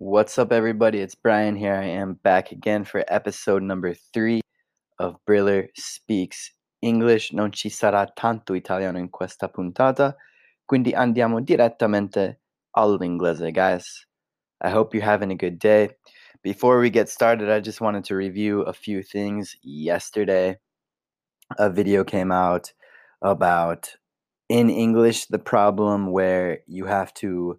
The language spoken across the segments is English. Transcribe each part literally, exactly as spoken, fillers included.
What's up, everybody? It's Brian here. I am back again for episode number three of Briller Speaks English. Non ci sarà tanto italiano in questa puntata, quindi andiamo direttamente all'inglese, guys. I hope you're having a good day. Before we get started, I just wanted to review a few things. Yesterday, a video came out about, in English, the problem where you have to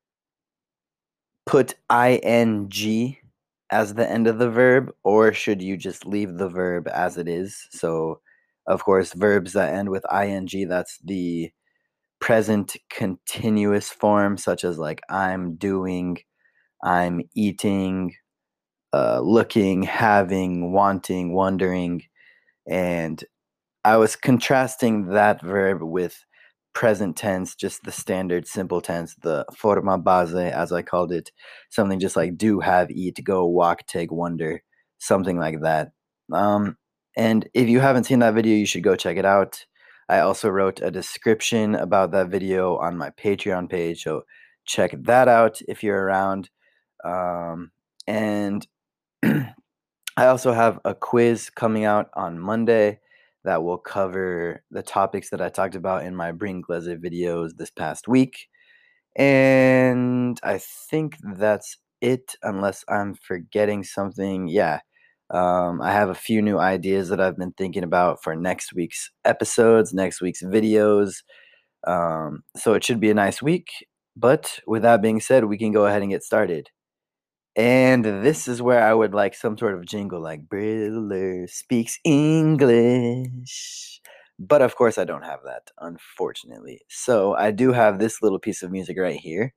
put ing as the end of the verb, or should you just leave the verb as it is? So, of course, verbs that end with ing, that's the present continuous form, such as like I'm doing, I'm eating, uh, looking, having, wanting, wondering. And I was contrasting that verb with present tense, just the standard simple tense, the forma base, as I called it, something just like do, have, eat, go, walk, take, wonder, something like that. Um, and if you haven't seen that video, you should go check it out. I also wrote a description about that video on my Patreon page, so check that out if you're around. Um, and I also have a quiz coming out on Monday that will cover the topics that I talked about in my Bringlese videos this past week. And I think that's it, unless I'm forgetting something. Yeah, um, I have a few new ideas that I've been thinking about for next week's episodes, next week's videos. Um, so it should be a nice week. But with that being said, we can go ahead and get started. And this is where I would like some sort of jingle like Briller Speaks English. But of course, I don't have that, unfortunately. So I do have this little piece of music right here.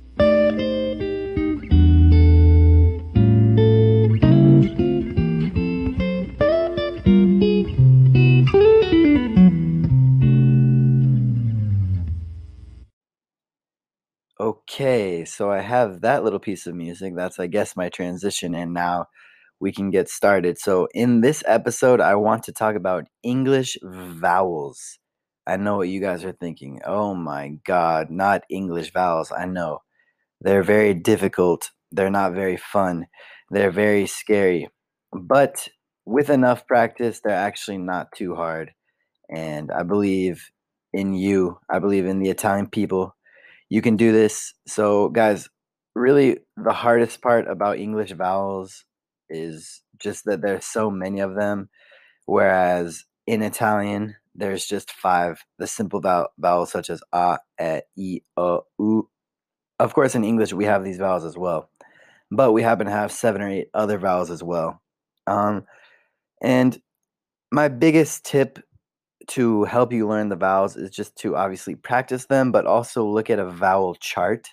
Okay, so I have that little piece of music. That's, I guess, my transition. And now we can get started. So, in this episode, I want to talk about English vowels. I know what you guys are thinking. Oh my God, not English vowels. I know. They're very difficult. They're not very fun. They're very scary. But with enough practice, they're actually not too hard. And I believe in you. I believe in the Italian people. You can do this. So, guys, really, the hardest part about English vowels is just that there's so many of them, whereas in Italian, there's just five. The simple vowel, vowels such as a, e, i, o, u. Of course, in English, we have these vowels as well, but we happen to have seven or eight other vowels as well. Um, and my biggest tip to help you learn the vowels is just to obviously practice them, but also look at a vowel chart.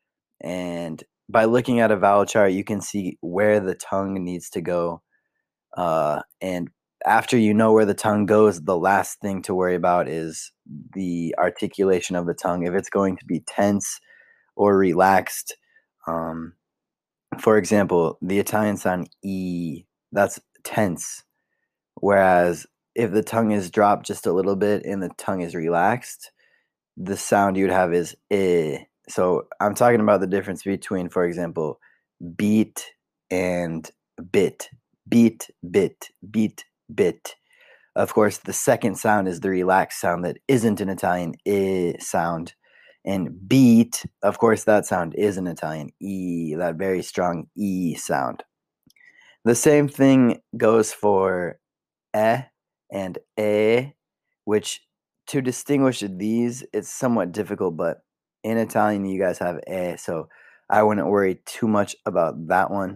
And by looking at a vowel chart, you can see where the tongue needs to go. Uh, and after you know where the tongue goes, the last thing to worry about is the articulation of the tongue. If it's going to be tense or relaxed, um, for example, the Italian sound E, that's tense. Whereas if the tongue is dropped just a little bit and the tongue is relaxed, the sound you'd have is eh. So I'm talking about the difference between, for example, beat and bit. Beat, bit, beat, bit. Of course, the second sound is the relaxed sound that isn't an Italian I sound. And beat, of course, that sound is an Italian E, that very strong E sound. The same thing goes for eh and e, which to distinguish these, it's somewhat difficult, but in Italian, you guys have e, so I wouldn't worry too much about that one.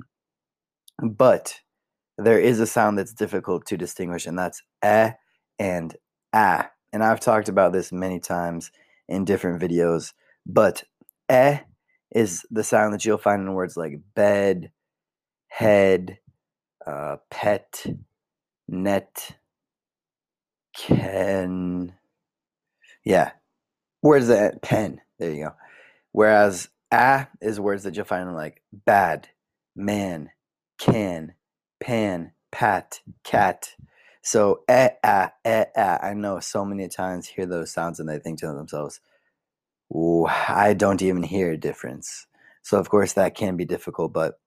But there is a sound that's difficult to distinguish, and that's eh and ah. And I've talked about this many times in different videos, but eh is the sound that you'll find in words like bed, head, uh, pet, net, can, yeah, words that pen. There you go. Whereas ah is words that you'll find in like bad, man, can, pan, pat, cat. So eh ah eh ah. I know so many Italians hear those sounds and they think to themselves, "Ooh, I don't even hear a difference." So, of course, that can be difficult, but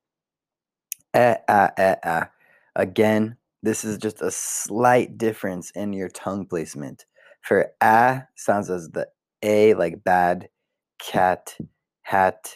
eh, ah, eh, ah. Again, this is just a slight difference in your tongue placement. For ah, sounds as the A, like bad, cat, hat,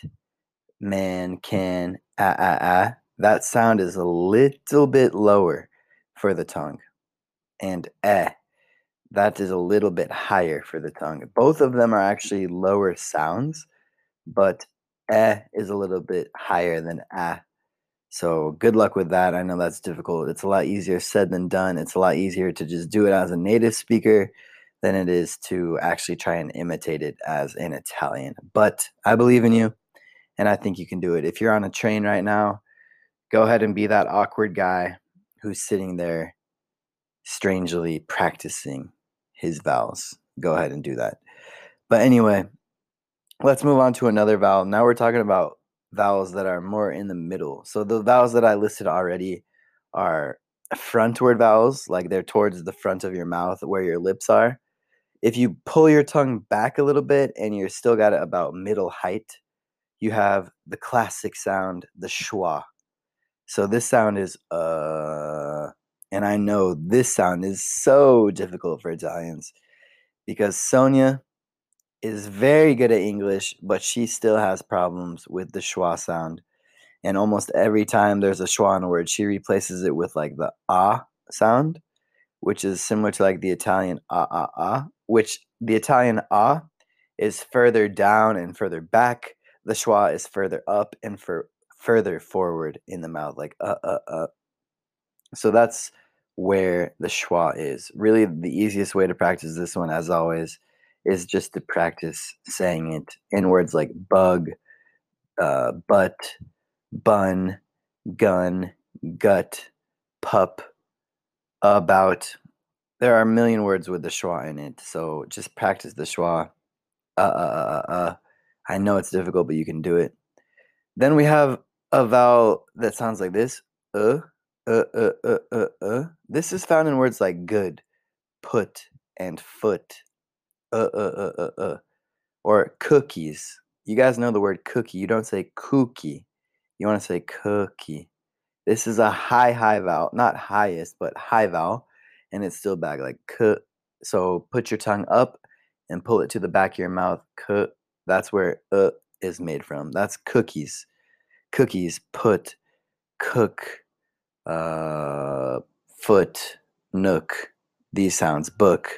man, can, ah, ah, ah. That sound is a little bit lower for the tongue. And eh, that is a little bit higher for the tongue. Both of them are actually lower sounds, but eh is a little bit higher than ah. So good luck with that. I know that's difficult. It's a lot easier said than done. It's a lot easier to just do it as a native speaker than it is to actually try and imitate it as an Italian. But I believe in you, and I think you can do it. If you're on a train right now, go ahead and be that awkward guy who's sitting there strangely practicing his vowels. Go ahead and do that. But anyway, let's move on to another vowel. Now we're talking about vowels that are more in the middle. So the vowels that I listed already are frontward vowels, like they're towards the front of your mouth where your lips are. If you pull your tongue back a little bit and you're still got it about middle height, you have the classic sound, the schwa. So this sound is uh and I know this sound is so difficult for Italians because Sonia is very good at English, but she still has problems with the schwa sound. And almost every time there's a schwa in a word, she replaces it with like the ah sound, which is similar to like the Italian ah ah ah, which the Italian ah is further down and further back. The schwa is further up and for further forward in the mouth, like uh uh uh. So that's where the schwa is. Really, the easiest way to practice this one, as always, is just to practice saying it in words like bug, uh, butt, bun, gun, gut, pup, about. There are a million words with the schwa in it, so just practice the schwa. Uh, uh, uh, uh. uh. I know it's difficult, but you can do it. Then we have a vowel that sounds like this. Uh, uh, uh, uh, uh, uh. This is found in words like good, put, and foot. Uh, uh, uh, uh, uh. Or cookies. You guys know the word cookie. You don't say cookie. You want to say cookie. This is a high, high vowel. Not highest, but high vowel. And it's still back like k. So put your tongue up and pull it to the back of your mouth. K. That's where uh is made from. That's cookies. Cookies, put, cook, uh, foot, nook. These sounds, book.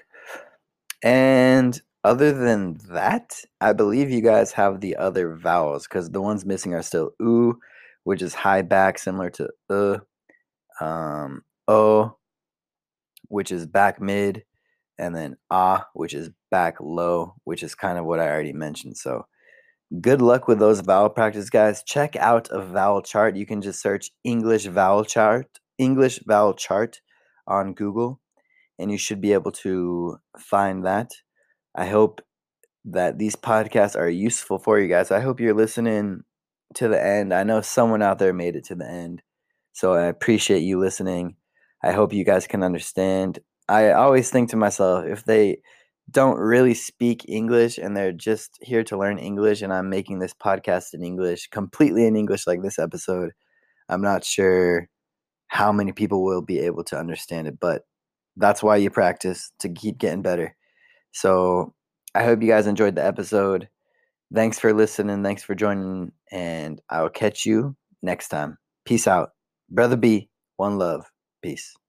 And other than that, I believe you guys have the other vowels because the ones missing are still oo, which is high back, similar to uh, um, o, which is back mid, and then ah, which is back low, which is kind of what I already mentioned. So good luck with those vowel practice, guys. Check out a vowel chart. You can just search English vowel chart, English vowel chart on Google, and you should be able to find that. I hope that these podcasts are useful for you guys. I hope you're listening to the end. I know someone out there made it to the end, so I appreciate you listening. I hope you guys can understand. I always think to myself, if they don't really speak English and they're just here to learn English, and I'm making this podcast in English, completely in English, like this episode, I'm not sure how many people will be able to understand it, but that's why you practice to keep getting better. So I hope you guys enjoyed the episode. Thanks for listening. Thanks for joining. And I will catch you next time. Peace out. Brother B, one love. Peace.